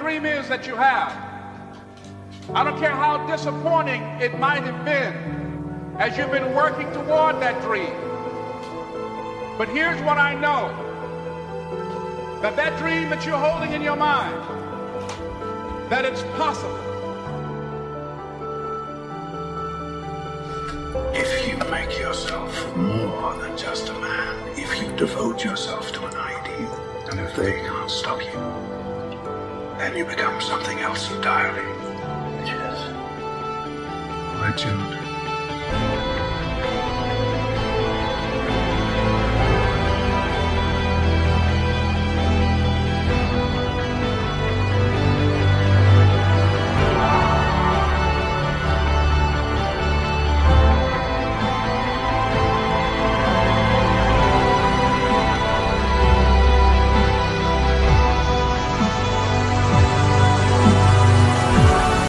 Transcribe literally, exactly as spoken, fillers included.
dream is that you have. I don't care how disappointing it might have been as you've been working toward that dream. But here's what I know, that that dream that you're holding in your mind, that it's possible. If you make yourself more than just a man, if you devote yourself to an ideal, and if they can't stop you, then you become something else entirely. Which is legend.